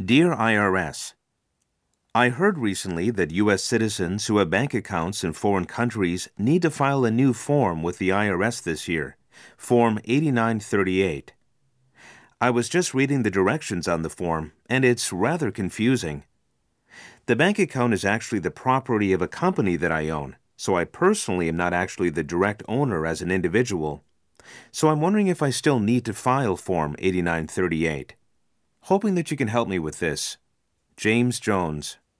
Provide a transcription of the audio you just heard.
Dear IRS, I heard recently that U.S. citizens who have bank accounts in foreign countries need to file a new form with the IRS this year, Form 8938. I was just reading the directions on the form, and it's rather confusing. The bank account is actually the property of a company that I own, so I personally am not actually the direct owner as an individual. So I'm wondering if I still need to file Form 8938. Hoping that you can help me with this. James Jones.